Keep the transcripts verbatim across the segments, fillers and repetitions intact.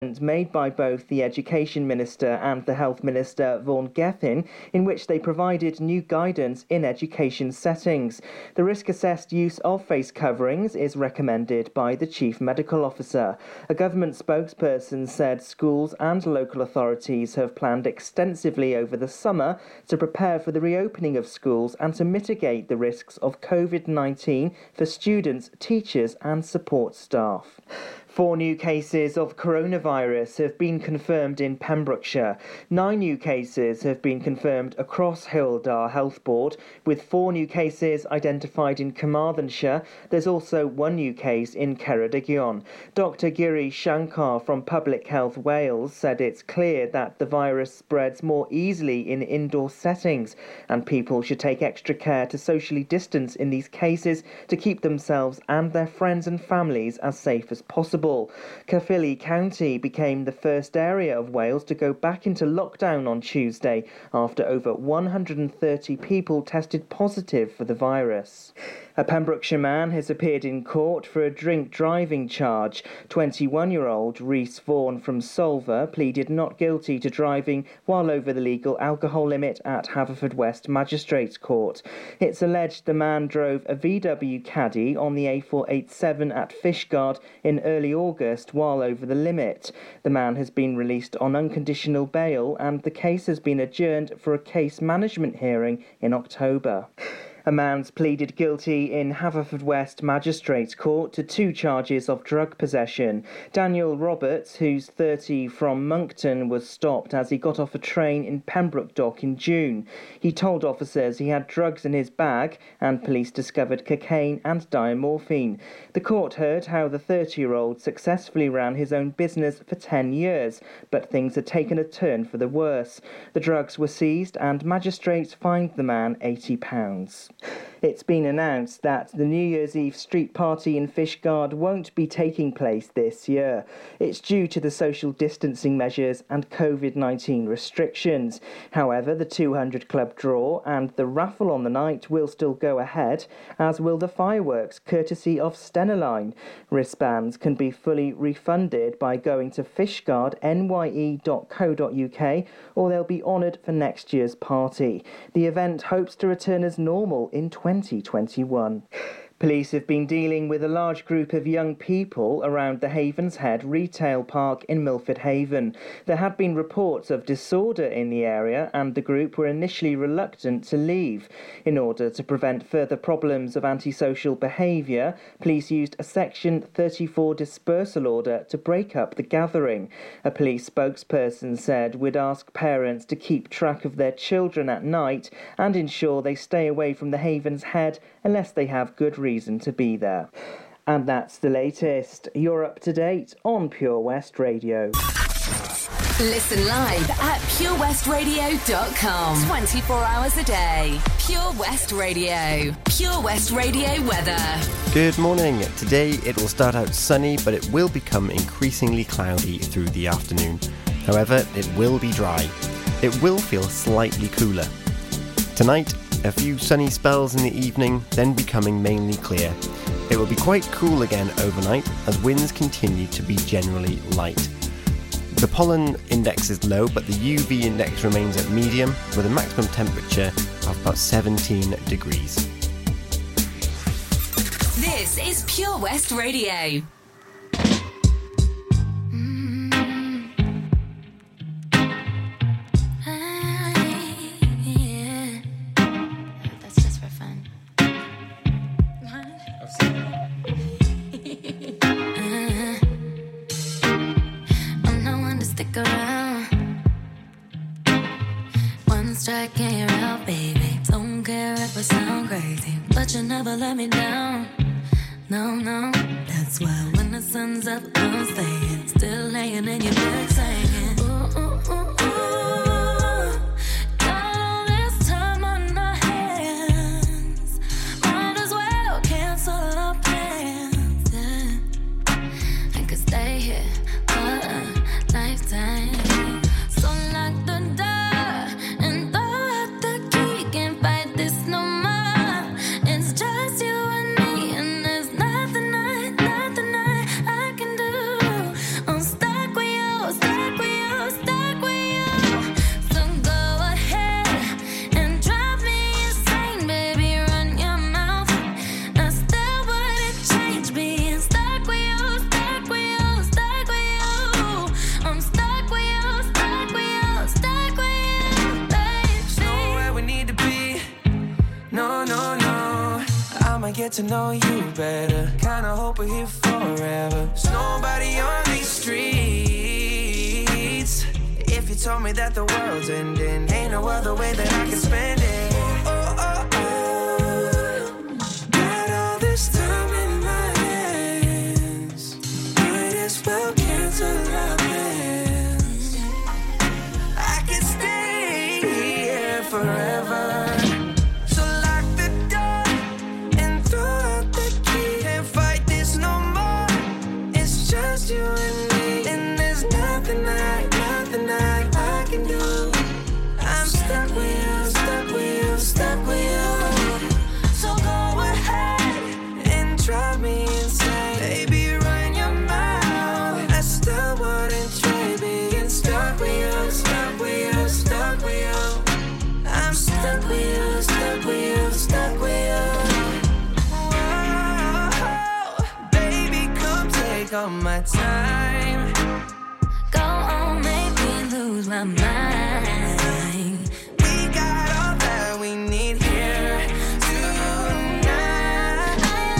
made by both the Education Minister and the Health Minister, Vaughan Gething, in which they provided new guidance in education settings. The risk-assessed use of face coverings is recommended by the Chief Medical Officer. A government spokesperson said schools and local authorities have planned extensively over the summer to prepare for the reopening of schools and to mitigate the risks of covid nineteen for students, teachers and support staff. Four new cases of coronavirus have been confirmed in Pembrokeshire. Nine new cases have been confirmed across Hywel Dda Health Board, with four new cases identified in Carmarthenshire. There's also one new case in Ceredigion. Doctor Giri Shankar from Public Health Wales said it's clear that the virus spreads more easily in indoor settings, and people should take extra care to socially distance in these cases to keep themselves and their friends and families as safe as possible. Caerphilly County became the first area of Wales to go back into lockdown on Tuesday after over one hundred thirty people tested positive for the virus. A Pembrokeshire man has appeared in court for a drink driving charge. twenty-one-year-old Rhys Vaughan from Solva pleaded not guilty to driving while over the legal alcohol limit at Haverfordwest Magistrates Court. It's alleged the man drove a V W Caddy on the A four eighty-seven at Fishguard in early August while over the limit. The man has been released on unconditional bail and the case has been adjourned for a case management hearing in October. A man's pleaded guilty in Haverfordwest Magistrates Court to two charges of drug possession. Daniel Roberts, who's thirty, from Moncton, was stopped as he got off a train in Pembroke Dock in June. He told officers he had drugs in his bag and police discovered cocaine and diamorphine. The court heard how the thirty-year-old successfully ran his own business for ten years, but things had taken a turn for the worse. The drugs were seized and magistrates fined the man eighty pounds. It's been announced that the New Year's Eve street party in Fishguard won't be taking place this year. It's due to the social distancing measures and covid nineteen restrictions. However, the two hundred club draw and the raffle on the night will still go ahead, as will the fireworks, courtesy of Stenaline. Wristbands can be fully refunded by going to fishguard n y e dot co dot u k, or they'll be honoured for next year's party. The event hopes to return as normal in twenty twenty-one. Police have been dealing with a large group of young people around the Havenshead retail park in Milford Haven. There had been reports of disorder in the area and the group were initially reluctant to leave. In order to prevent further problems of antisocial behaviour, police used a Section thirty-four dispersal order to break up the gathering. A police spokesperson said we'd ask parents to keep track of their children at night and ensure they stay away from the Havenshead unless they have good reason reason to be there. And that's the latest. You're up to date on Pure West Radio. Listen live at pure west radio dot com. twenty-four hours a day. Pure West Radio. Pure West Radio weather. Good morning. Today it will start out sunny, but it will become increasingly cloudy through the afternoon. However, it will be dry. It will feel slightly cooler. Tonight, a few sunny spells in the evening, then becoming mainly clear. It will be quite cool again overnight as winds continue to be generally light. The pollen index is low, but the U V index remains at medium with a maximum temperature of about seventeen degrees. This is Pure West Radio. Strike and you're out, baby. Don't care if I sound crazy, but you never let me down. No, no. That's why when the sun's up, I'm staying. Still laying in your bed saying, ooh, ooh, ooh, ooh. Got all this time on our hands. Might as well cancel our plans. Yeah. I could stay here for a lifetime. So lock the door. I'm stuck with you. get to know you better. Kinda hope we're here forever. There's nobody on these streets. If you told me that the world's ending, ain't no other way that I can spend it. Oh, oh, oh. Got all this time in my hands. Might as well cancel our plans. I can stay here forever. You and me, and there's nothing I, nothing I, I can do. I'm stuck with you, stuck with you, stuck with you. So go ahead and drive me insane. Baby, run your mouth. I still wouldn't trade being stuck with you, stuck with you, stuck with you. I'm stuck with you, stuck with you, stuck with you. All my time. Go on, make me lose my mind. We got all that we need here tonight.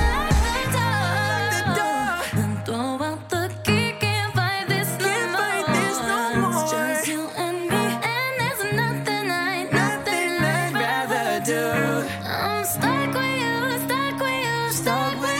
I lock the door and throw out the key. Can't fight this no Can't more. fight this no more. It's just you and me, and there's nothing I, Nothing I'd rather do. I'm stuck with you, stuck with you, stuck with you.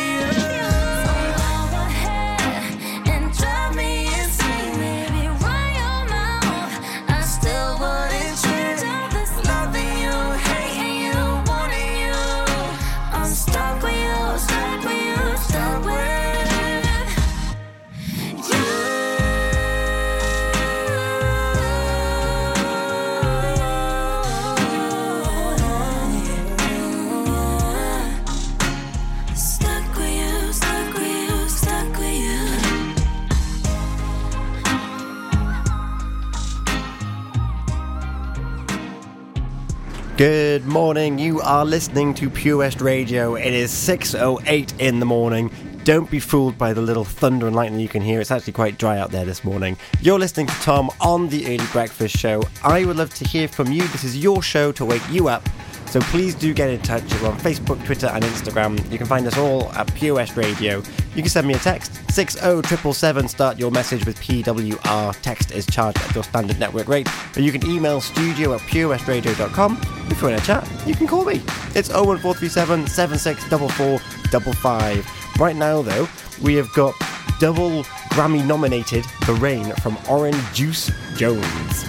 Good morning, you are listening to Pure West Radio. It is six oh eight in the morning. Don't be fooled by the little thunder and lightning you can hear. It's actually quite dry out there this morning. You're listening to Tom on the Early Breakfast Show. I would love to hear from you. This is your show to wake you up. So please do get in touch. We're on Facebook, Twitter and Instagram. You can find us all at Pure West Radio. You can send me a text, six oh seven seven seven. Start your message with P W R. Text is charged at your standard network rate. Or you can email studio at pure west radio dot com. If you want to chat, you can call me. It's oh one four three seven, seven six four four five five. Right now, though, we have got double Grammy nominated The Rain from Orange Juice Jones.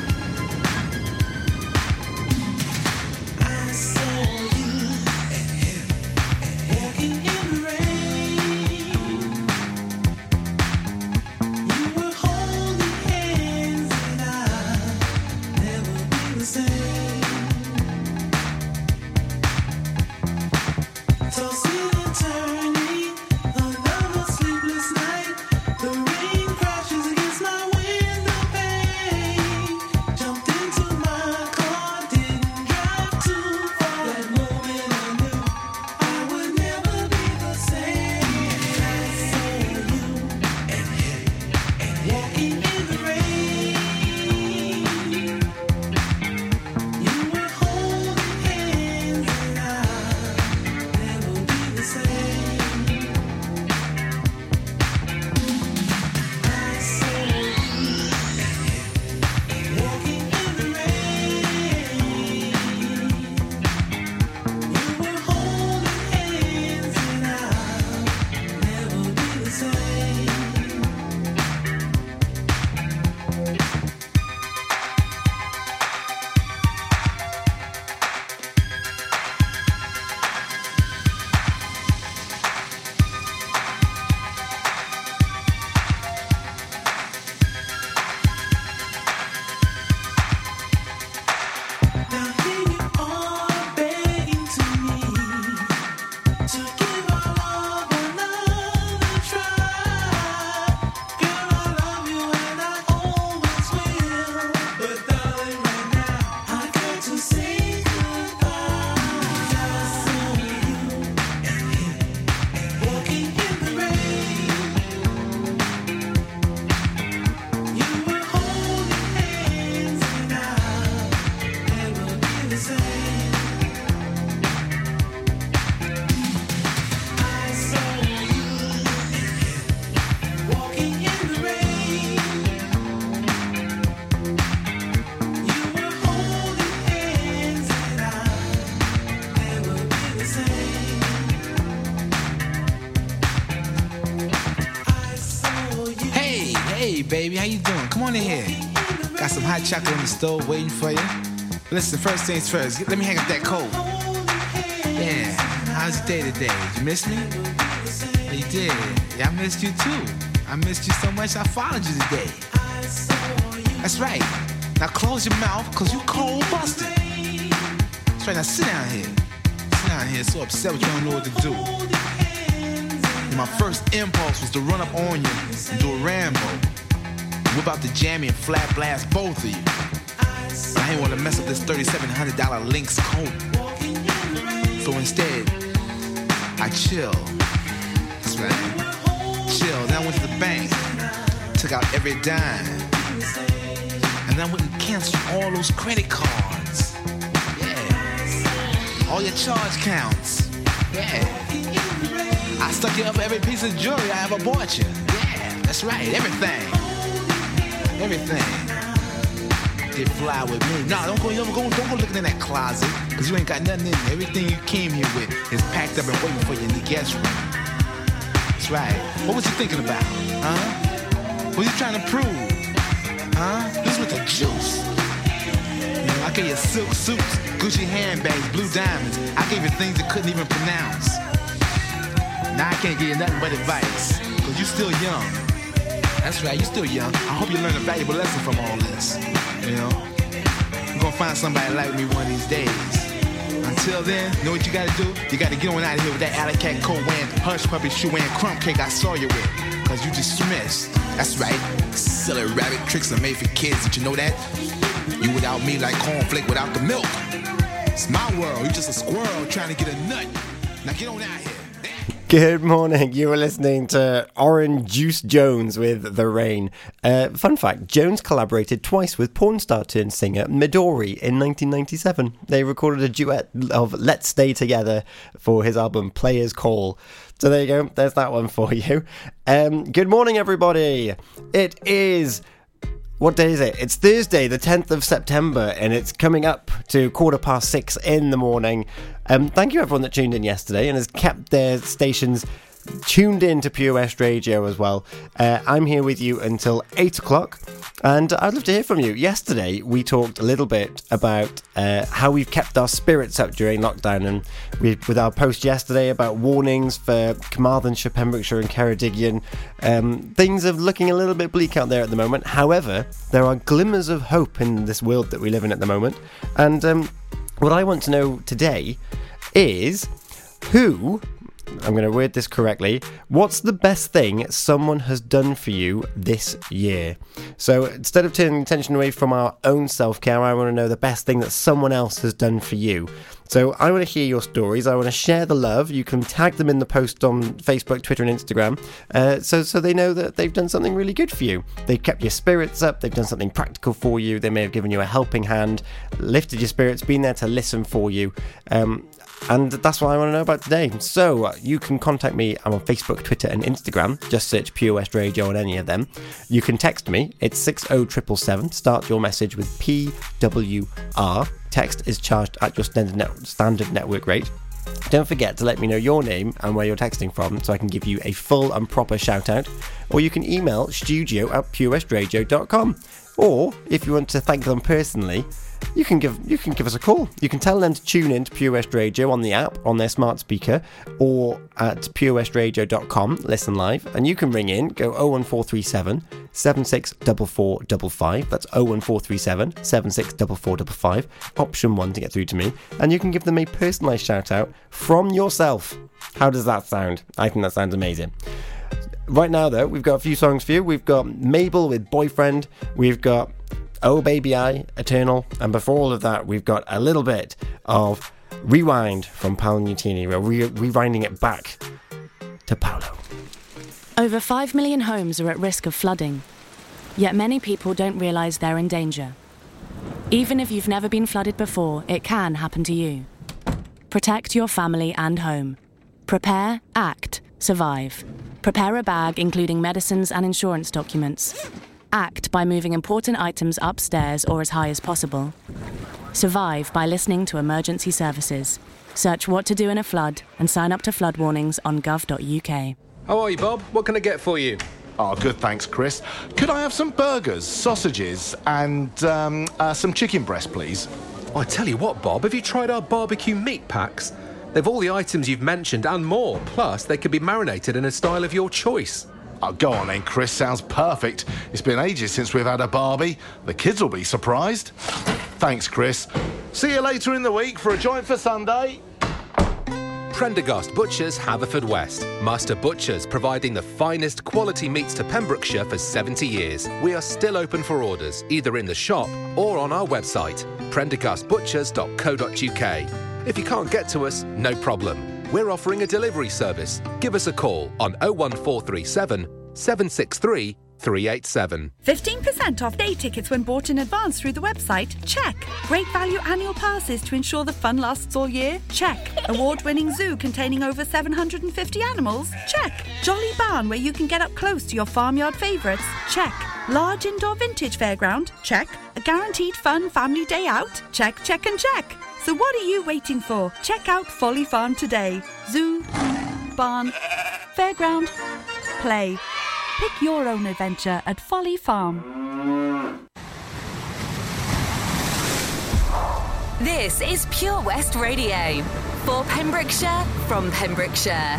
The rain crashes against my window pane. baby. How you doing? Come on in here. Got some hot chocolate on the stove waiting for you. Listen, first things first. Let me hang up that coat. Yeah. How's your day today? Did you miss me? Oh, you did. Yeah, I missed you too. I missed you so much I followed you today. That's right. Now close your mouth, cause you cold busted. That's right, now sit down here. Sit down here, so upset with you, don't know what to do. And my first impulse was to run up on you and do a Rambo. Whip out the jammy and flat blast both of you. But I didn't want to mess up this thirty-seven hundred dollars Lynx coat. So instead, I chill. That's right. Chill. Then I went to the bank, took out every dime, and then I went and canceled all those credit cards. Yeah. All your charge counts. Yeah. I stuck you up every piece of jewelry I ever bought you. Yeah, that's right. Everything. Everything. Get fly with me. Nah, don't go, don't go, don't go looking in that closet, cause you ain't got nothing in there. Everything you came here with is packed up and waiting for you in the guest room. That's right. What was you thinking about? Huh? What was you trying to prove? Huh? This with the juice. You know, I gave you silk suits, Gucci handbags, blue diamonds. I gave you things you couldn't even pronounce. Now I can't give you nothing but advice, cause you still young. That's right, you still young. I hope you learn a valuable lesson from all this. You know? You're gonna find somebody like me one of these days. Until then, know what you gotta do? You gotta get on out of here with that alley cat coat wearing, hush puppy shoe wearing crumb cake I saw you with. Cause you dismissed. That's right. Silly rabbit tricks are made for kids. Did you know that? You without me like cornflake without the milk. It's my world. You just a squirrel trying to get a nut. Now get on out here. Good morning. You were listening to Orange Juice Jones with The Rain. Uh, fun fact, Jones collaborated twice with porn star turned singer Midori in nineteen ninety-seven. They recorded a duet of Let's Stay Together for his album Players Call. So there you go. There's that one for you. Um, good morning, everybody. It is... What day is it? It's Thursday, the tenth of September, and it's coming up to quarter past six in the morning. Um, thank you everyone that tuned in yesterday and has kept their stations tuned in to Pure West Radio as well. Uh, I'm here with you until eight o'clock, and I'd love to hear from you. Yesterday, we talked a little bit about uh, how we've kept our spirits up during lockdown, and we, with our post yesterday about warnings for Carmarthenshire, Pembrokeshire and Ceredigion, um, things are looking a little bit bleak out there at the moment. However, there are glimmers of hope in this world that we live in at the moment, and um, what I want to know today is who... I'm going to word this correctly. What's the best thing someone has done for you this year? So instead of turning attention away from our own self-care, I want to know the best thing that someone else has done for you. So I want to hear your stories. I want to share the love. You can tag them in the post on Facebook, Twitter and Instagram, uh, so, so they know that they've done something really good for you. They've kept your spirits up. They've done something practical for you. They may have given you a helping hand, lifted your spirits, been there to listen for you. Um, And that's what I want to know about today. So uh, you can contact me. I'm on Facebook, Twitter and Instagram. Just search Pure West Radio on any of them. You can text me. It's six oh seven seven seven. Start your message with P W R. Text is charged at your standard, net- standard network rate. Don't forget to let me know your name and where you're texting from so I can give you a full and proper shout out. Or you can email studio at pure west radio dot com. Or if you want to thank them personally, you can give you can give us a call. You can tell them to tune in to Pure West Radio on the app, on their smart speaker, or at pure west radio dot com, listen live, and you can ring in, go oh one four three seven, seven six four four five five, that's oh one four three seven, seven six four four five five, option one to get through to me, and you can give them a personalised shout out from yourself. How does that sound? I think that sounds amazing. Right now though, we've got a few songs for you. We've got Mabel with Boyfriend, we've got Oh Baby I, Eternal, and before all of that, we've got a little bit of Rewind from Paolo Nutini. We're re- rewinding it back to Paolo. Over five million homes are at risk of flooding, yet many people don't realise they're in danger. Even if you've never been flooded before, it can happen to you. Protect your family and home. Prepare, act, survive. Prepare a bag including medicines and insurance documents. Act by moving important items upstairs or as high as possible. Survive by listening to emergency services. Search what to do in a flood and sign up to flood warnings on gov dot u k. How are you, Bob? What can I get for you? Oh, good, thanks, Chris. Could I have some burgers, sausages, and um, uh, some chicken breast, please? Oh, I tell you what, Bob, have you tried our barbecue meat packs? They've all the items you've mentioned and more. Plus, they can be marinated in a style of your choice. Oh, go on then, Chris. Sounds perfect. It's been ages since we've had a barbie. The kids will be surprised. Thanks, Chris. See you later in the week for a joint for Sunday. Prendergast Butchers, Haverfordwest. Master Butchers, providing the finest quality meats to Pembrokeshire for seventy years. We are still open for orders, either in the shop or on our website, prendergast butchers dot co dot uk. If you can't get to us, no problem. We're offering a delivery service. Give us a call on oh one four three seven, seven six three, three eight seven. fifteen percent off day tickets when bought in advance through the website? Check. Great value annual passes to ensure the fun lasts all year? Check. Award-winning zoo containing over seven hundred fifty animals? Check. Jolly barn where you can get up close to your farmyard favourites? Check. Large indoor vintage fairground? Check. A guaranteed fun family day out? Check, check and check. So what are you waiting for? Check out Folly Farm today. Zoo, barn, fairground, play. Pick your own adventure at Folly Farm. This is Pure West Radio. For Pembrokeshire, from Pembrokeshire.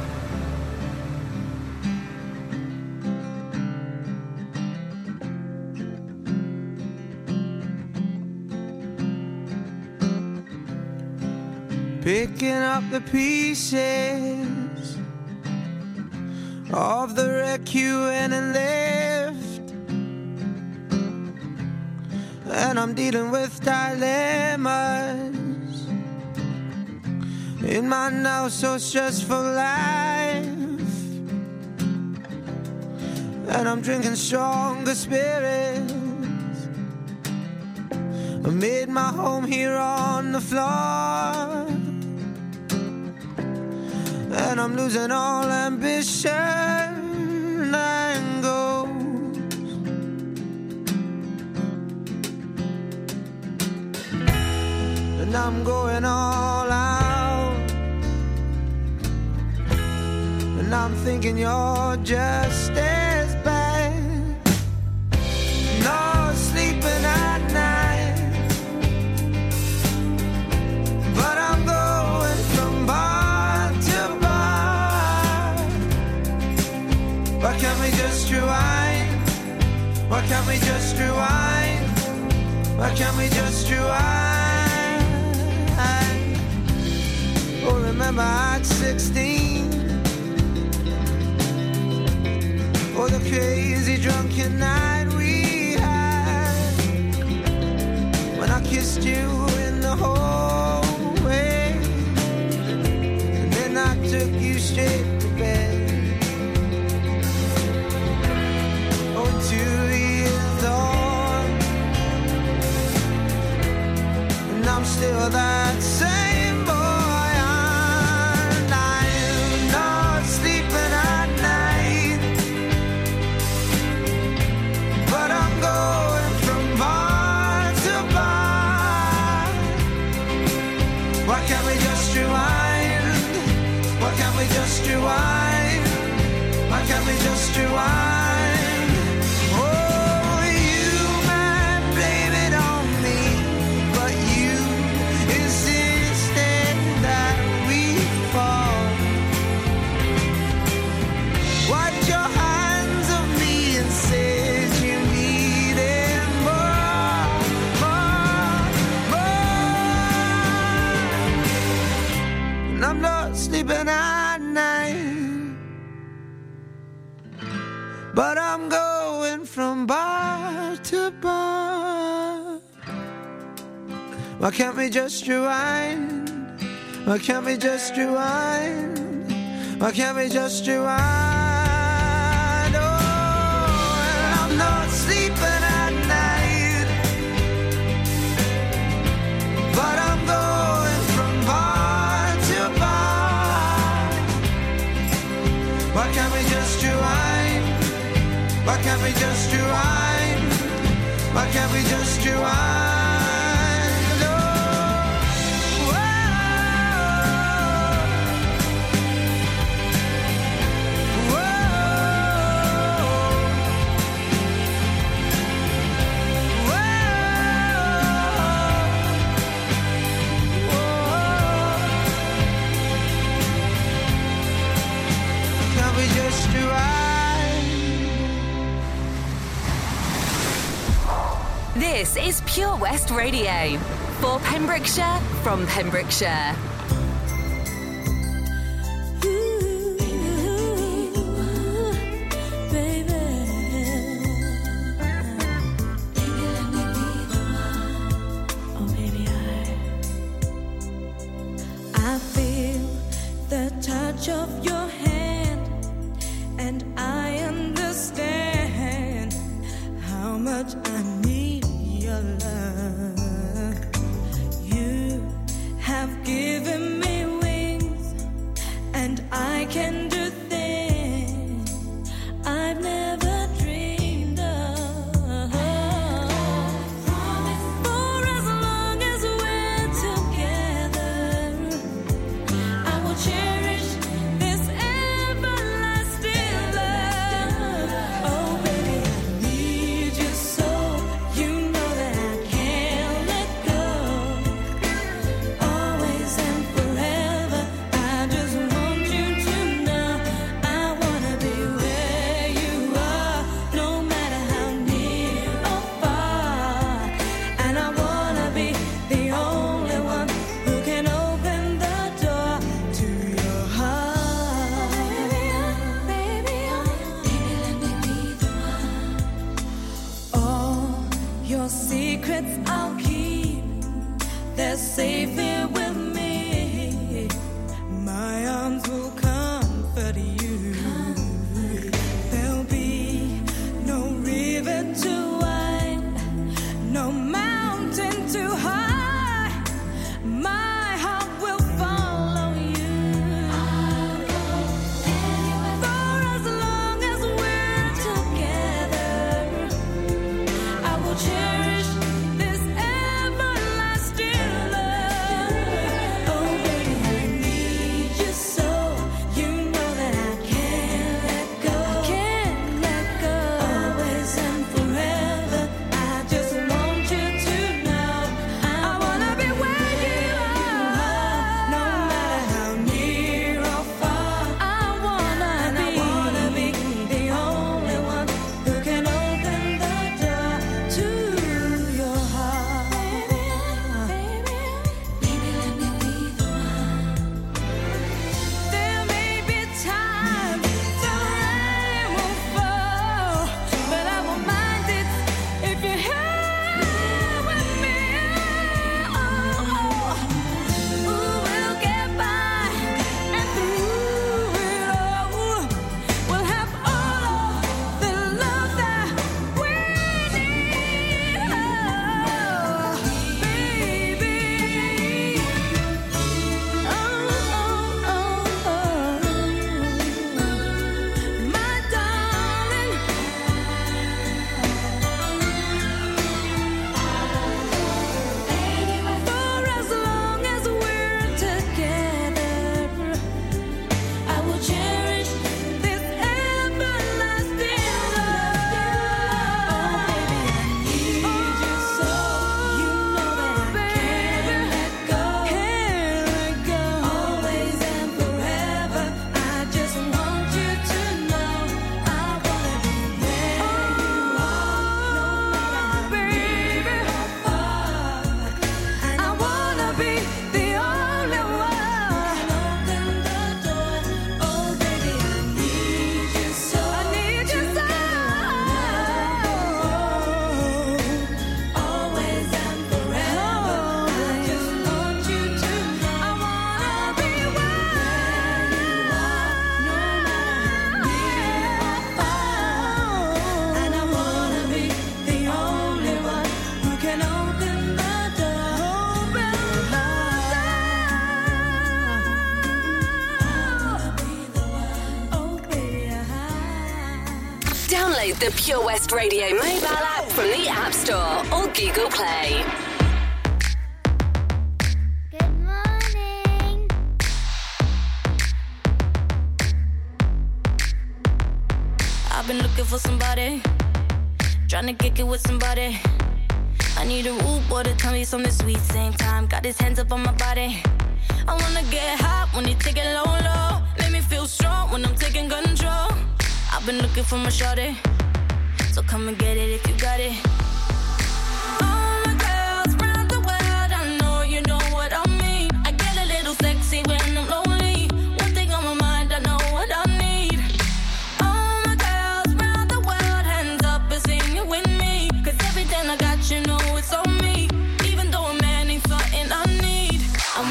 Picking up the pieces of the wreck you went and left, and I'm dealing with dilemmas in my now so stressful life, and I'm drinking stronger spirits. I made my home here on the floor, and I'm losing all ambition and goals. And I'm going all out, and I'm thinking you're just as bad. No sleeping at night, but I'm going from bar to bar. Why can't we just rewind? Why can't we just rewind? Why can't we just rewind? Oh, remember at sixteen, oh, the crazy drunken night we had, when I kissed you in the hallway, and then I took you straight to bed. Oh, two years on, and I'm still that same boy. And I'm not sleeping at night, but I'm going from bar to bar. Why can't we just rewind? Why can't we just rewind? Why can't we just rewind? Oh, you might blame it on me, but you insisted that we fall. Wiped your hands of me and said you needed more, more, more. And I'm not sleeping at night, but I'm going from bar to bar. Why can't we just rewind? Why can't we just rewind? Why can't we just rewind? Oh, and I'm not sleeping at night, but I'm going from bar to bar. Why can't we just rewind? Why can't we just rewind? Why can't we just rewind? Oh, whoa, This is Pure West Radio. For Pembrokeshire, from Pembrokeshire. Of your hand, and I understand how much I need your love. You have given me wings, and I can do things I've never dreamed of. For as long as we're together, I will cherish safe here with me. My arms will comfort you. There'll be no river too wide, no mountain too high. My heart will follow you. For as long as we're together, I will cherish this everlasting love. Download the Pure West Radio mobile app from the App Store or Google Play. Good morning. I've been looking for somebody, trying to kick it with somebody. I need a rude boy to tell me something sweet, same time got his hands up on my body. I wanna get hot when you take it low, low. Make me feel strong when I'm taking control. I've been looking for my shorty, so come and get it if you got it.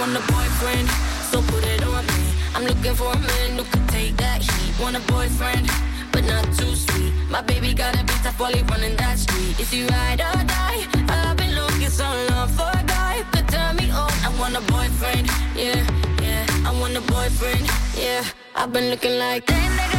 want a boyfriend, so put it on me. I'm looking for a man who could take that heat. Want a boyfriend, but not too sweet. My baby got a bit tough while he running that street. Is he ride or die? I've been looking so long for a guy who could turn me on. I want a boyfriend, yeah, yeah. I want a boyfriend, yeah. I've been looking like that nigga.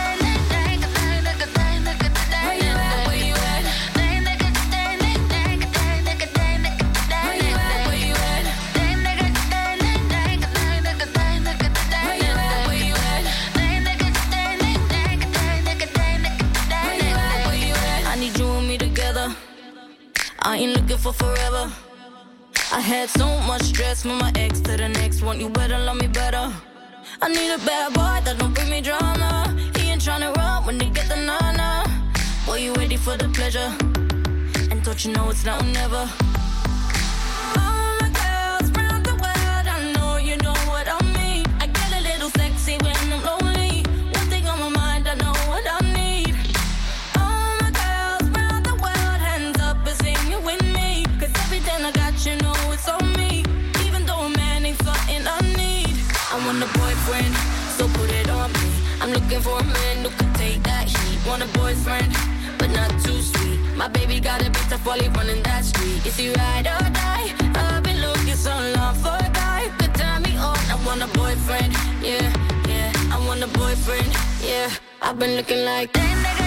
I ain't looking for forever. I had so much stress from my ex to the next one. You better love me better. I need a bad boy that don't bring me drama. He ain't tryna run when they get the nana. Boy, you ready for the pleasure? And don't you know it's now or never? All my girls round the world, I know you know what I mean. I get a little sexy when I'm lonely. One thing on my mind, I know what I need. All my girls round the world, hands up and sing it with me. Cause everything I got, you know it's on me. Even though a man ain't something I need. I want a boyfriend, so put it on me. I'm looking for a man who could take that heat. Want a boyfriend, but not too sweet. My baby got a bit tough while he running that street. Is he ride or die? I've been looking so long for a guy who could turn me on. I want a boyfriend, yeah, yeah. I want a boyfriend, yeah. I've been looking like that nigga.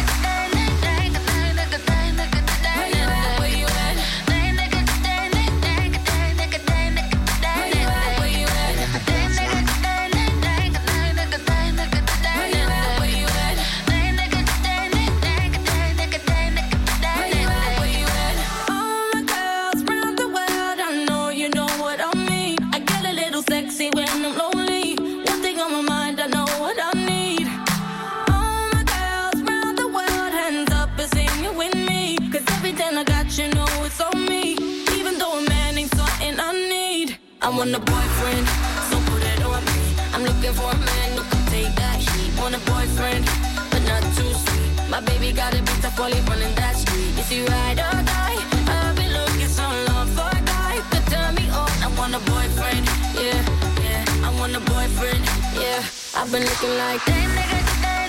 I want a boyfriend, so put it on me. I'm looking for a man who can take that heat. Want a boyfriend, but not too sweet. My baby got a bit tough while he running that street. Is he ride or die? I've been looking so long for a guy who could turn me on. I want a boyfriend, yeah, yeah. I want a boyfriend, yeah. I've been looking like that nigga.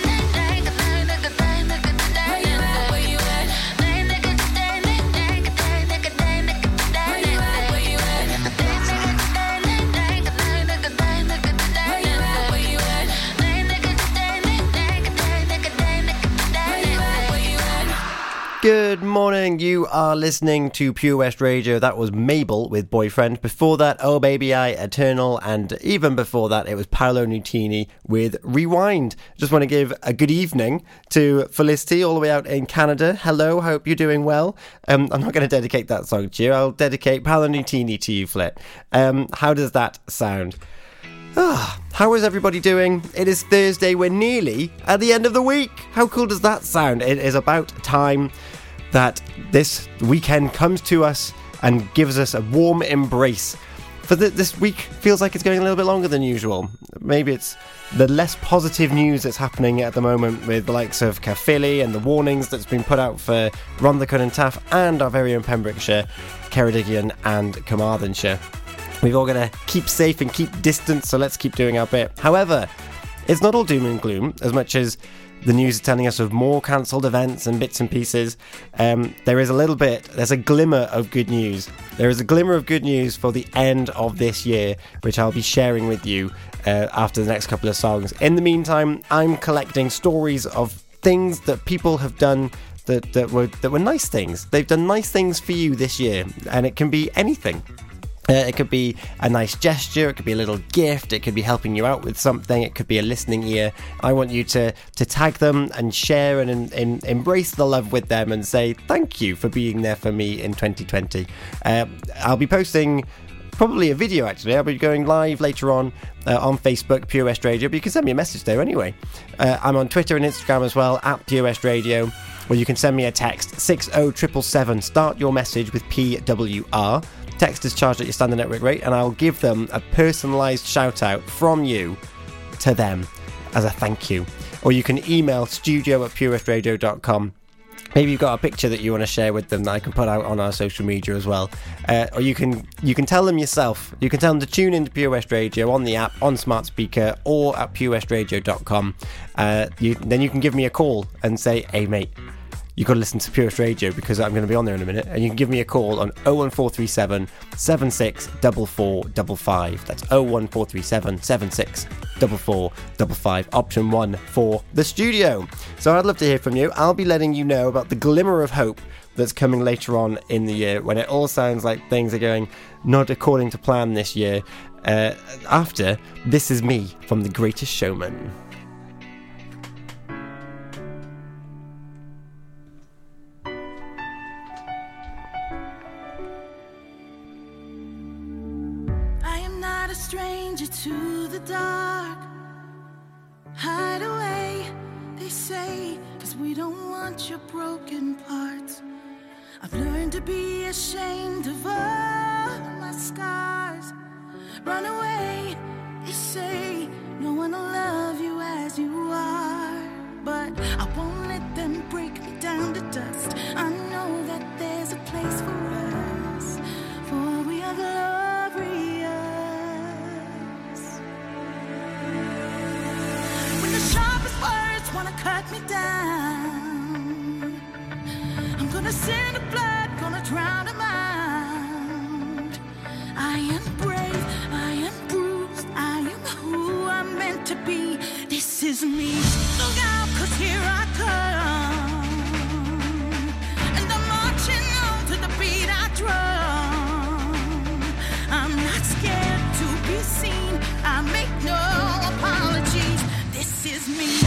Good morning, you are listening to Pure West Radio. That was Mabel with Boyfriend. Before that, Oh Baby I, Eternal, and even before that, it was Paolo Nutini with Rewind. Just want to give a good evening to Felicity all the way out in Canada. Hello, hope you're doing well. Um, I'm not going to dedicate that song to you. I'll dedicate Paolo Nutini to you, Flit. Um, how does that sound? Ah, how is everybody doing? It is Thursday, we're nearly at the end of the week. How cool does that sound? It is about time that this weekend comes to us and gives us a warm embrace. For the, this week feels like it's going a little bit longer than usual. Maybe it's the less positive news that's happening at the moment with the likes of Caerphilly and the warnings that's been put out for Rhondda and Taff and our very own Pembrokeshire, Ceredigion and Carmarthenshire. We've all got to keep safe and keep distance, so let's keep doing our bit. However, it's not all doom and gloom, as much as the news is telling us of more cancelled events and bits and pieces. Um, there is a little bit, there's a glimmer of good news. There is a glimmer of good news for the end of this year, which I'll be sharing with you uh, after the next couple of songs. In the meantime, I'm collecting stories of things that people have done that, that were that were nice things. They've done nice things for you this year, and it can be anything. Uh, it could be a nice gesture, it could be a little gift, it could be helping you out with something, it could be a listening ear. I want you to, to tag them and share and in, in, embrace the love with them and say thank you for being there for me in twenty twenty. Uh, I'll be posting probably a video actually. I'll be going live later on uh, on Facebook, Pure West Radio, but you can send me a message there anyway. Uh, I'm on Twitter and Instagram as well, at Pure West Radio, or you can send me a text, six oh seven seven seven, start your message with P W R. Text is charged at your standard network rate, and I'll give them a personalised shout out from you to them as a thank you. Or you can email studio at pure west radio dot com maybe you've got a picture that you want to share with them that I can put out on our social media as well. Uh, or you can you can tell them yourself. You can tell them to tune into Pure West Radio on the app, on smart speaker, or at pure west radio dot com. Uh, you, then you can give me a call and say, hey, mate, you've got to listen to Pure West Radio because I'm going to be on there in a minute. And you can give me a call on oh one four three seven, seven six four four five five. That's oh one four three seven, seven six four four five five, option one for the studio. So I'd love to hear from you. I'll be letting you know about the glimmer of hope that's coming later on in the year when it all sounds like things are going not according to plan this year. Uh, after This Is Me from The Greatest Showman. Stranger to the dark. Hide away, they say, 'cause we don't want your broken parts. I've learned to be ashamed of all my scars. Run away, they say, no one will love you as you are. But I won't let them break me down to dust. I know that there's a place for us, for we are glorious. Sharpest words wanna cut me down. I'm gonna send a blood, gonna drown a mind. I am brave, I am bruised, I am who I'm meant to be. This is me. Look out, 'cause here I come. And I'm marching on to the beat I drum. I'm not scared to be seen, I make no apologies. This is me.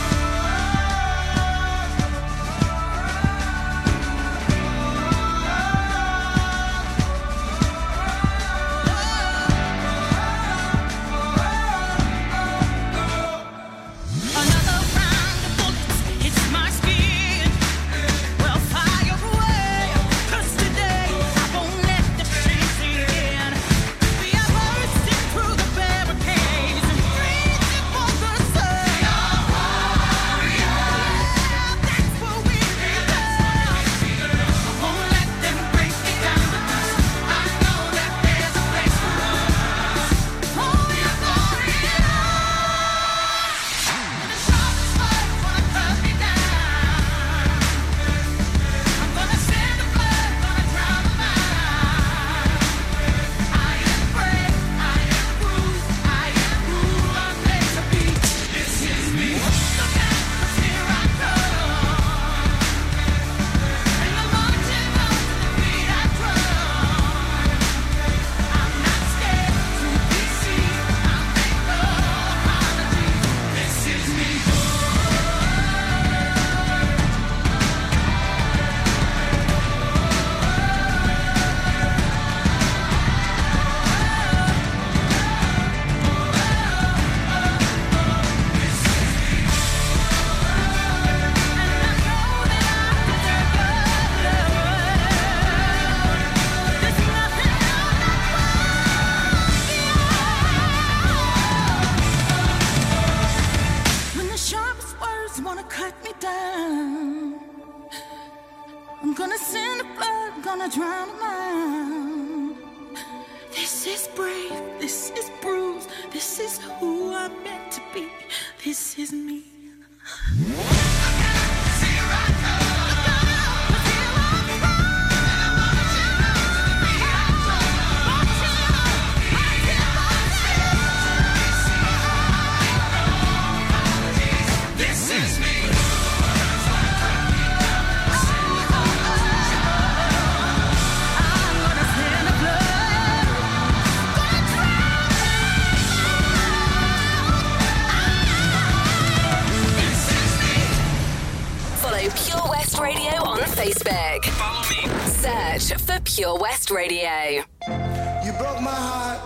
Pure West Radio. You broke my heart,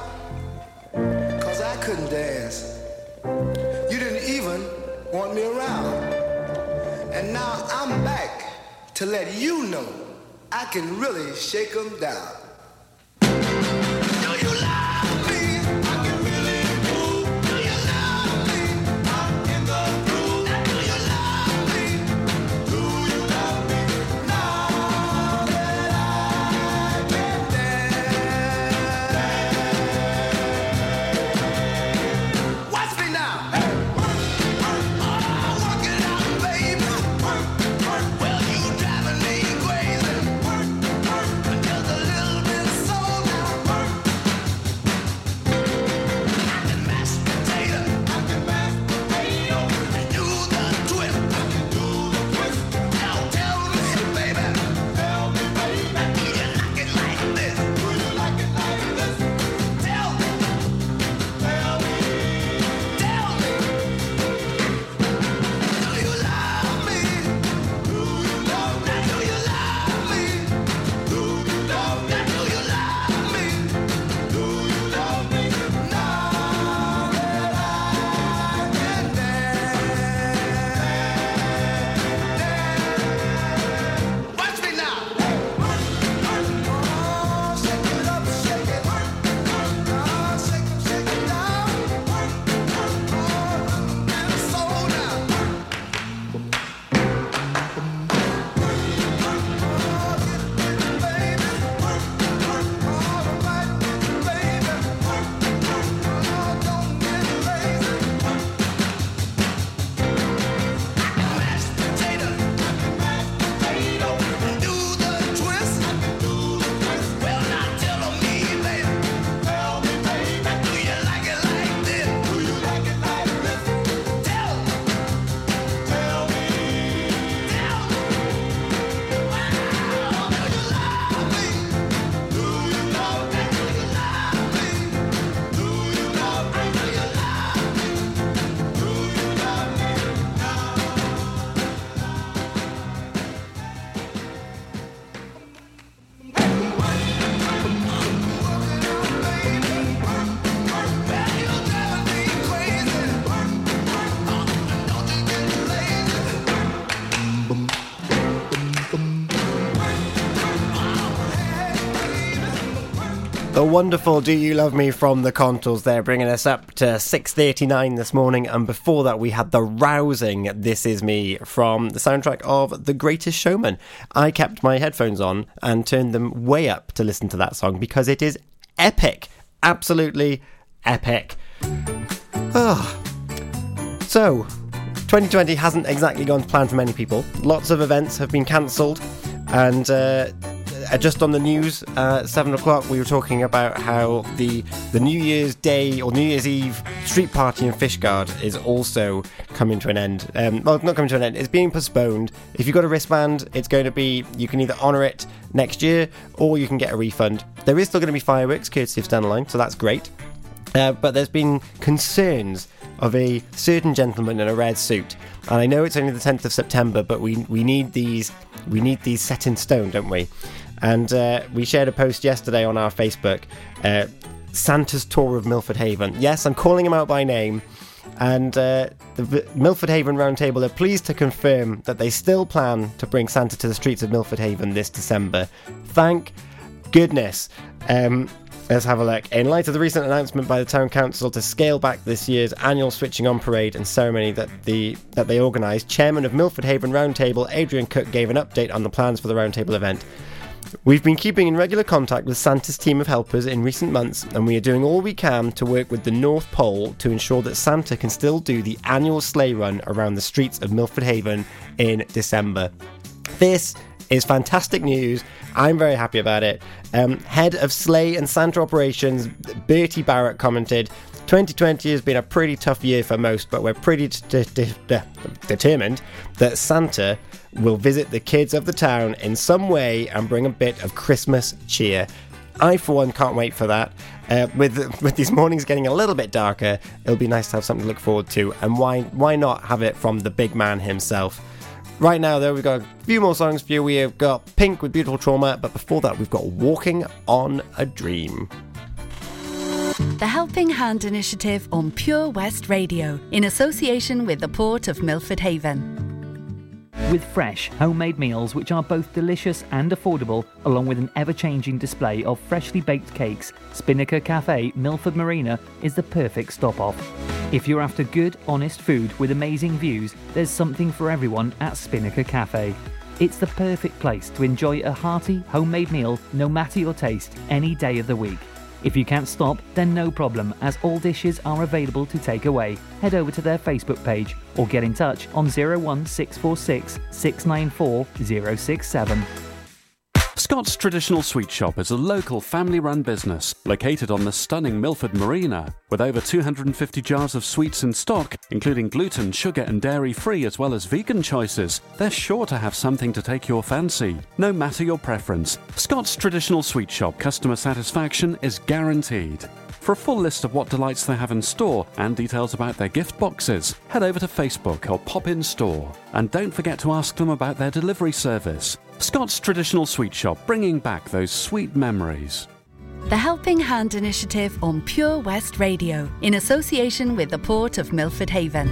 'cause I couldn't dance. You didn't even want me around. And now I'm back to let you know I can really shake them down. Do you love me? The wonderful Do You Love Me from the Contors there, bringing us up to six thirty-nine this morning. And before that, we had the rousing This Is Me from the soundtrack of The Greatest Showman. I kept my headphones on and turned them way up to listen to that song because it is epic. Absolutely epic. Oh. So, twenty twenty hasn't exactly gone to plan for many people. Lots of events have been cancelled, and uh, just on the news, uh, seven o'clock, we were talking about how the the New Year's Day or New Year's Eve street party in Fishguard is also coming to an end. Um, well, not coming to an end, it's being postponed. If you've got a wristband, it's going to be, you can either honour it next year or you can get a refund. There is still going to be fireworks, courtesy of Stand Line, so that's great. Uh, but there's been concerns of a certain gentleman in a red suit, and I know it's only the tenth of September, but we we need these we need these set in stone, don't we? And uh, we shared a post yesterday on our Facebook, uh, Santa's tour of Milford Haven. Yes, I'm calling him out by name, and uh, the v- Milford Haven Roundtable are pleased to confirm that they still plan to bring Santa to the streets of Milford Haven this December. Thank goodness. Um, Let's have a look. In light of the recent announcement by the Town Council to scale back this year's annual switching on parade and ceremony that the that they organised, Chairman of Milford Haven Roundtable, Adrian Cook, gave an update on the plans for the Roundtable event. We've been keeping in regular contact with Santa's team of helpers in recent months, and we are doing all we can to work with the North Pole to ensure that Santa can still do the annual sleigh run around the streets of Milford Haven in December. This is fantastic news. I'm very happy about it. Um, Head of Sleigh and Santa Operations, Bertie Barrett, commented, twenty twenty has been a pretty tough year for most, but we're pretty de- de- de- determined that Santa will visit the kids of the town in some way and bring a bit of Christmas cheer. I, for one, can't wait for that. Uh, with with these mornings getting a little bit darker, it'll be nice to have something to look forward to, and why why not have it from the big man himself? Right now, though, we've got a few more songs for you. We have got Pink with Beautiful Trauma, but before that, we've got Walking on a Dream. The Helping Hand Initiative on Pure West Radio, in association with the Port of Milford Haven. With fresh, homemade meals which are both delicious and affordable, along with an ever-changing display of freshly baked cakes, Spinnaker Cafe, Milford Marina is the perfect stop-off. If you're after good, honest food with amazing views, there's something for everyone at Spinnaker Cafe. It's the perfect place to enjoy a hearty, homemade meal, no matter your taste, any day of the week. If you can't stop, then no problem, as all dishes are available to take away. Head over to their Facebook page or get in touch on zero one six four six, six nine four, zero six seven. Scott's Traditional Sweet Shop is a local family-run business located on the stunning Milford Marina. With over two hundred fifty jars of sweets in stock, including gluten, sugar and dairy-free as well as vegan choices, they're sure to have something to take your fancy, no matter your preference. Scott's Traditional Sweet Shop customer satisfaction is guaranteed. For a full list of what delights they have in store and details about their gift boxes, head over to Facebook or pop in store. And don't forget to ask them about their delivery service. Scott's Traditional Sweet Shop, bringing back those sweet memories. The Helping Hand Initiative on Pure West Radio, in association with the Port of Milford Haven.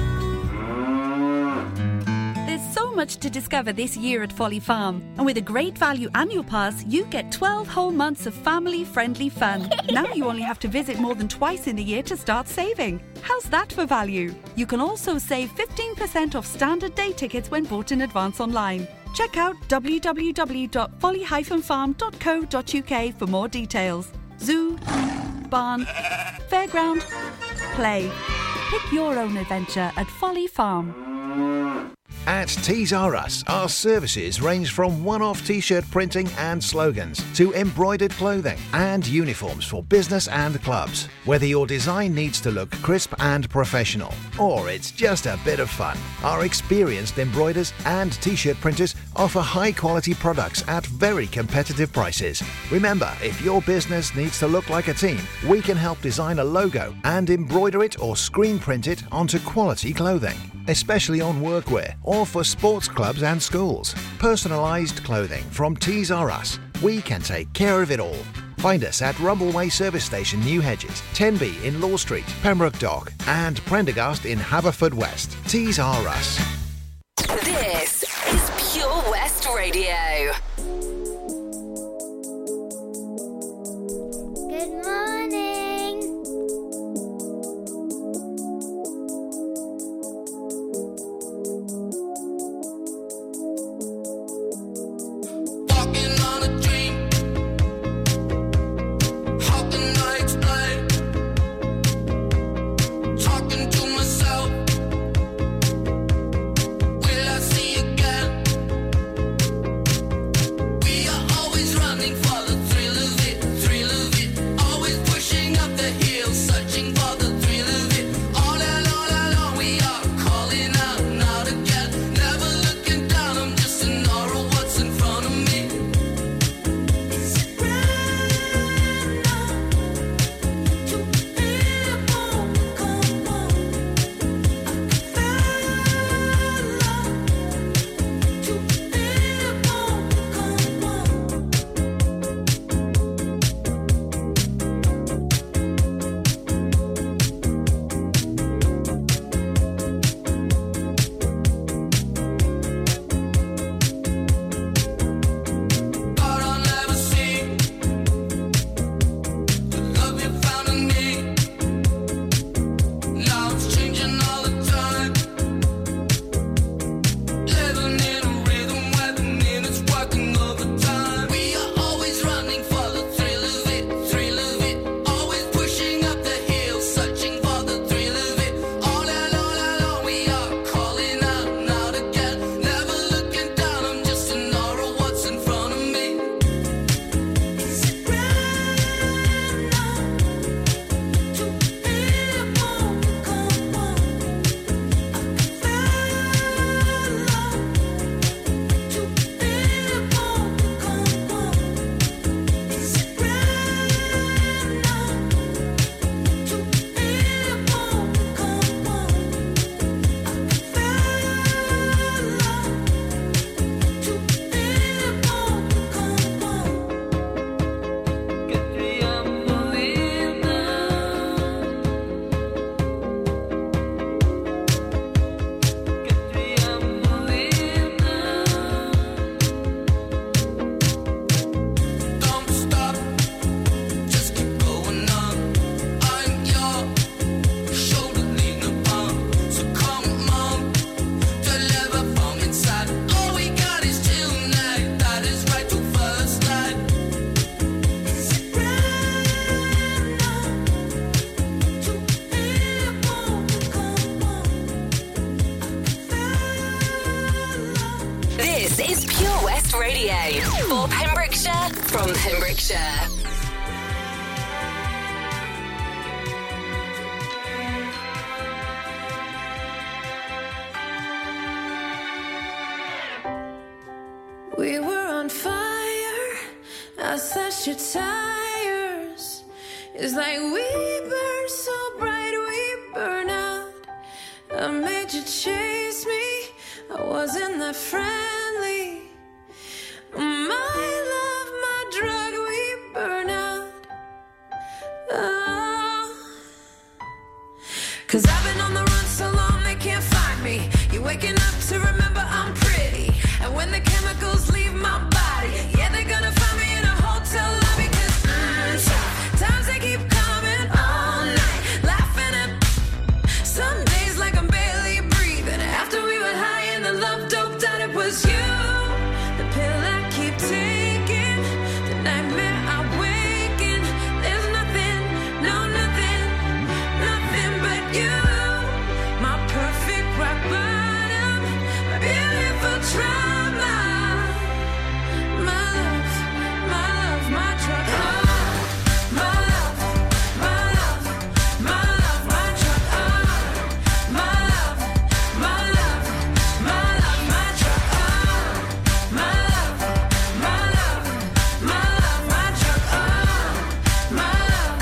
There's so much to discover this year at Folly Farm, and with a great value annual pass, you get twelve whole months of family-friendly fun. Now you only have to visit more than twice in the year to start saving. How's that for value? You can also save fifteen percent off standard day tickets when bought in advance online. Check out w w w dot folly dash farm dot co dot u k for more details. Zoo, barn, fairground, play. Pick your own adventure at Folly Farm. At Tees R Us, our services range from one-off t-shirt printing and slogans to embroidered clothing and uniforms for business and clubs. Whether your design needs to look crisp and professional, or it's just a bit of fun, our experienced embroiders and t-shirt printers offer high-quality products at very competitive prices. Remember, if your business needs to look like a team, we can help design a logo and embroider it or screen print it onto quality clothing, especially on workwear or for sports clubs and schools. Personalised clothing from Tees R Us. We can take care of it all. Find us at Rumbleway Service Station, New Hedges, ten B in Law Street, Pembroke Dock, and Prendergast in Haverfordwest. Tees R Us. This is Pure West Radio. from Pembrokeshire. We were on fire, I slashed your tires. It's like we burn so bright, we burn out. I made you chase me, I wasn't that friendly. My love, my drug, we burn out. Oh. Cause I've been on the run so long they can't find me. You're waking up to remember I'm pretty. And when the chemicals leave my body, yeah, they're gonna find me in a hotel lobby. Cause mm, times they keep coming all night, laughing at some days like I'm barely breathing. After we were high and the love doped out, it was you. The pill I keep taking, the nightmare I wake in. There's nothing, no nothing, nothing but you. My perfect rock bottom, my beautiful trauma. My love, my love, my drug. Oh, my love, my love, my love, my drug. Oh, my love, my love, my love, my drug. Oh, my love, my love, my love, my drug. Oh, my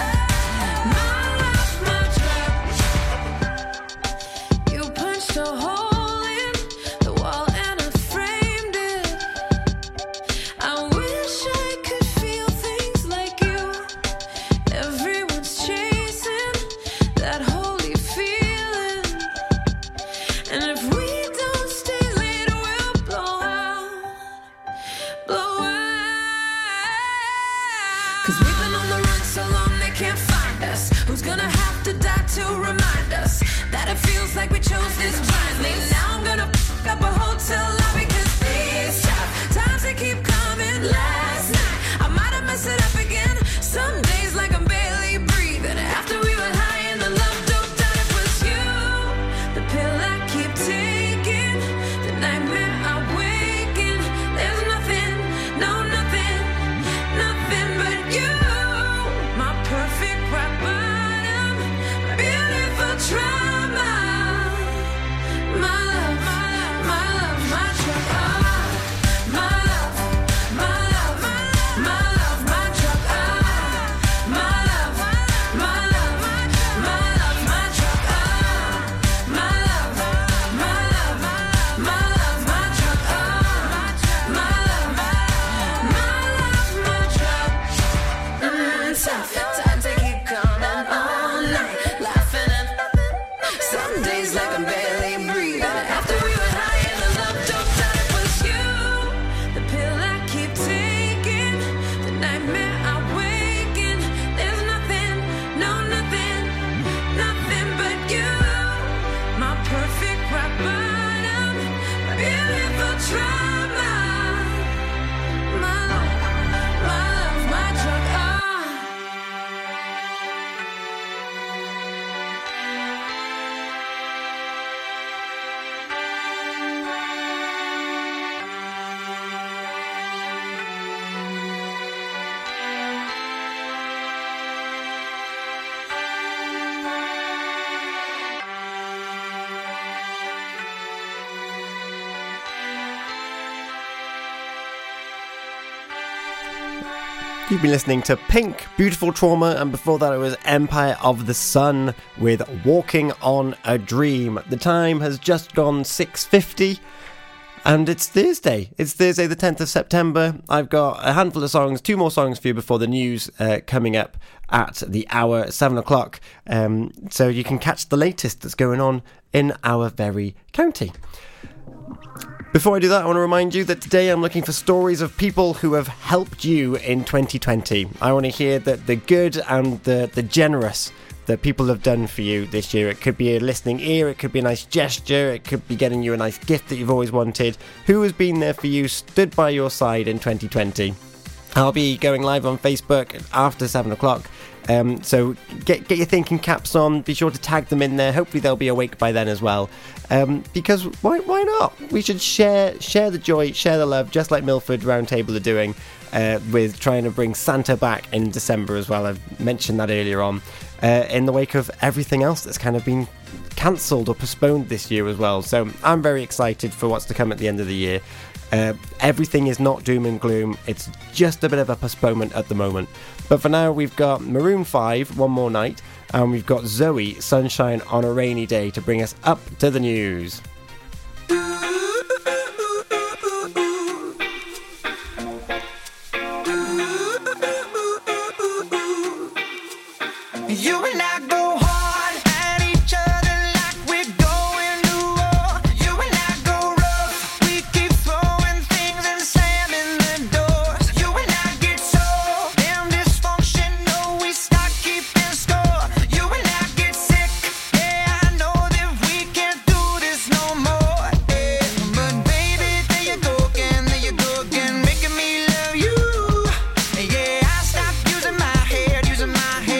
love, my love, my drug. You punched a hole in the wall and I framed it. I wish I could feel things like you. Everyone's chasing that holy feeling. And if we don't stay late, we'll blow out, blow out. Cause we've been on the run so long they can't find us. Who's gonna have to die to remind us that it feels like we chose this blindly? Now I'm gonna f*** up a hotel lobby. Cause these tough times they keep coming. Last night I might have messed it up again. Some days like I'm barely breathing. After we were high and the love doped out, it was you. The pill I keep taking, the nightmare I wake in. There's nothing, no nothing, nothing but you. My perfect rock bottom, my beautiful trauma. My love, my love, my drug. Oh, my love, my love, my love, my drug. Oh, my love, my love, my love, my drug. Oh, my love, my love, my love, my drug. Oh, my love, my love, my drug. Mm, tough times they keep coming all night, laughing at some days like I'm barely breathing. After we were high and the love doped out, it was you. The pill I keep taking, the nightmare I wake in. There's nothing, no nothing, nothing but you. My perfect rock bottom, my beautiful trauma. My love, my love, my drug. Oh. You've been listening to Pink, Beautiful Trauma, and before that it was Empire of the Sun with Walking on a Dream. The time has just gone six fifty, and it's Thursday. It's Thursday the tenth of September. I've got a handful of songs, two more songs for you before the news uh, coming up at the hour, seven o'clock, um, so you can catch the latest that's going on in our very county. Before I do that, I want to remind you that today I'm looking for stories of people who have helped you in twenty twenty. I want to hear that the good and the, the generous that people have done for you this year. It could be a listening ear, it could be a nice gesture, it could be getting you a nice gift that you've always wanted. Who has been there for you, stood by your side in twenty twenty? I'll be going live on Facebook after seven o'clock Um, so get get your thinking caps on. Be sure to tag them in there. Hopefully they'll be awake by then as well. Um, because why why not? We should share share the joy, share the love, just like Milford Roundtable are doing uh, with trying to bring Santa back in December as well. I've mentioned that earlier on. Uh, in the wake of everything else that's kind of been cancelled or postponed this year as well. So I'm very excited for what's to come at the end of the year. Uh, everything is not doom and gloom. It's just a bit of a postponement at the moment. But for now, we've got Maroon five, One More Night, and we've got Zoe, Sunshine on a Rainy Day, to bring us up to the news. You and I go hard at each other like we're going to war. You and I go rough. We keep throwing things and slamming the doors. You and I get so damn dysfunctional, we start keeping score. You and I get sick. Yeah, I know that we can't do this no more. Yeah. But baby, there you go again, there you go again, making me love you. Yeah, I stopped using my head, using my head.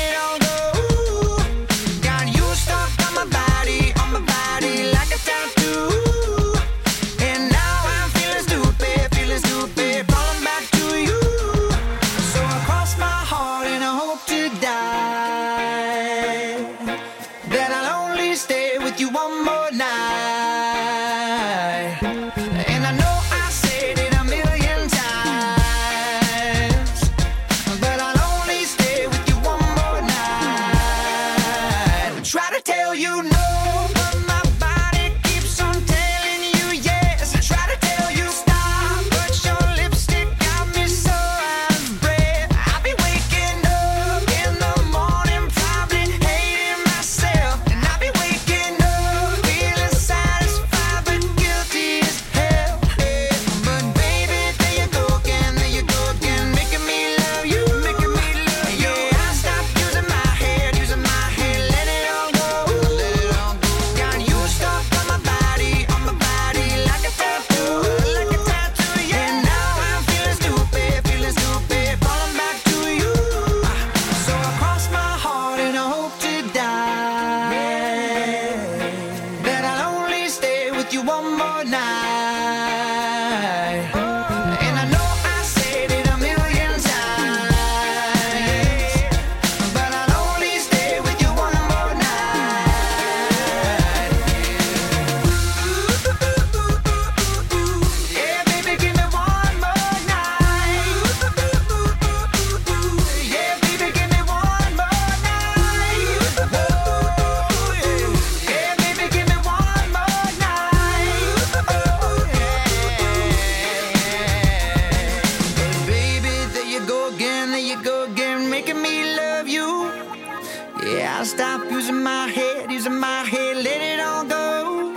Stop using my head, using my head, let it all go.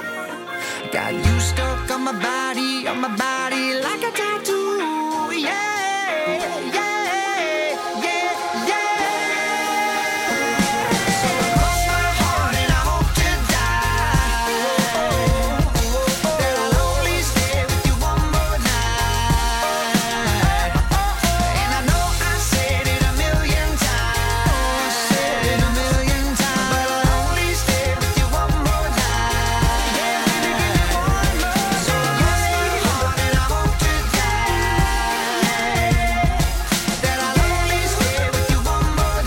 Got you stuck on my body, on my body like a tattoo. Yeah, yeah, yeah, yeah. So cross my heart and I hope to die. That I'll only stay with you one more night. And I know I said it a million times, said it a million times, but I'll only stay with you one more night. Yeah, baby, give me one more. So cross my heart and I hope to die. That I'll only stay with you one more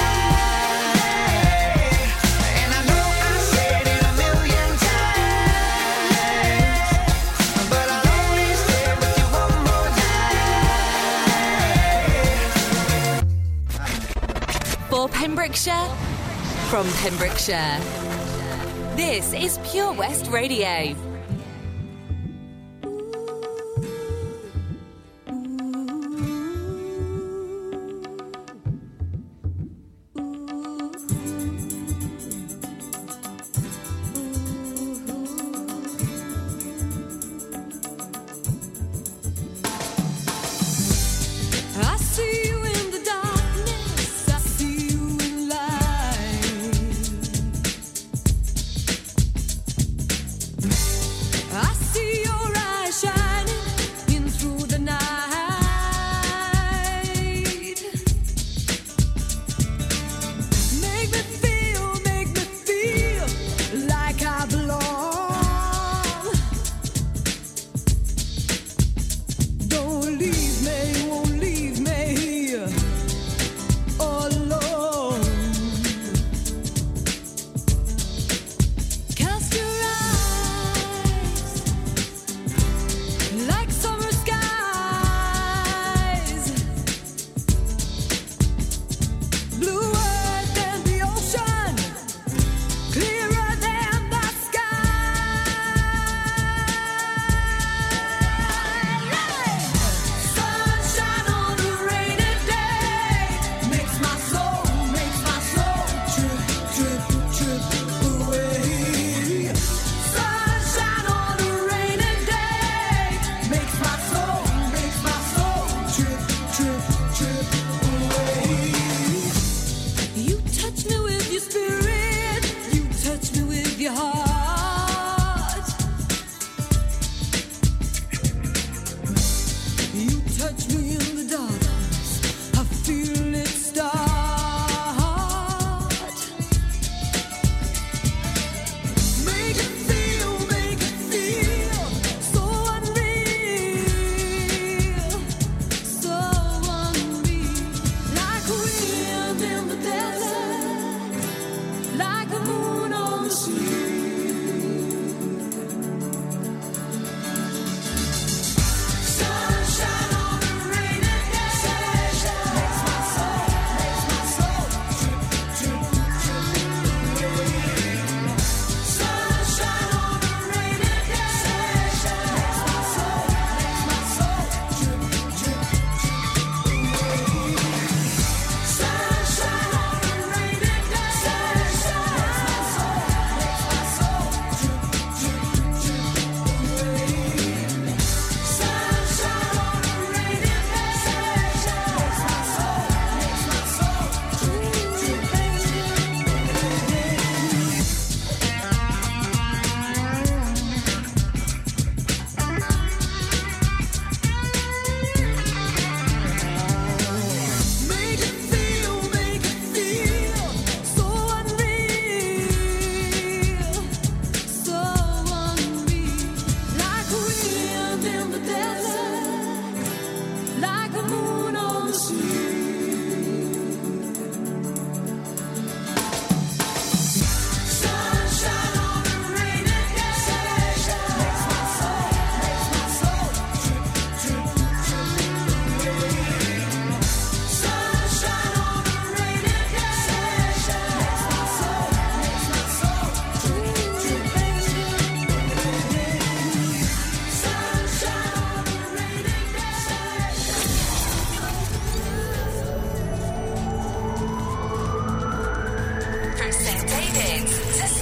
night. And I know I said it a million times, but I'll only stay with you one more night. For Pembrokeshire, from Pembrokeshire, this is Pure West Radio. I see you in the darkness, I see you in light.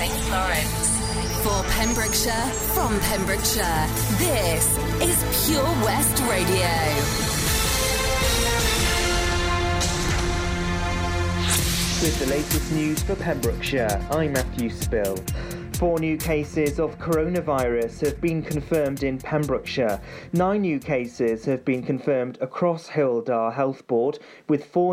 Saint Florence. For Pembrokeshire, from Pembrokeshire, this is Pure West Radio. With the latest news for Pembrokeshire, I'm Matthew Spill. Four new cases of coronavirus have been confirmed in Pembrokeshire. Nine new cases have been confirmed across Hywel Dda Health Board, with four